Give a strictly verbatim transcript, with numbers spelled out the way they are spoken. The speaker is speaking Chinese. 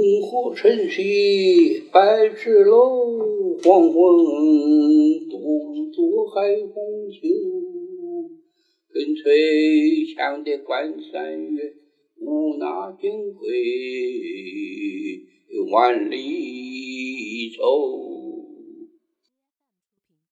火晨曦百尺楼，黄昏独坐海风秋。跟随响的关山月，无那金龟万里愁。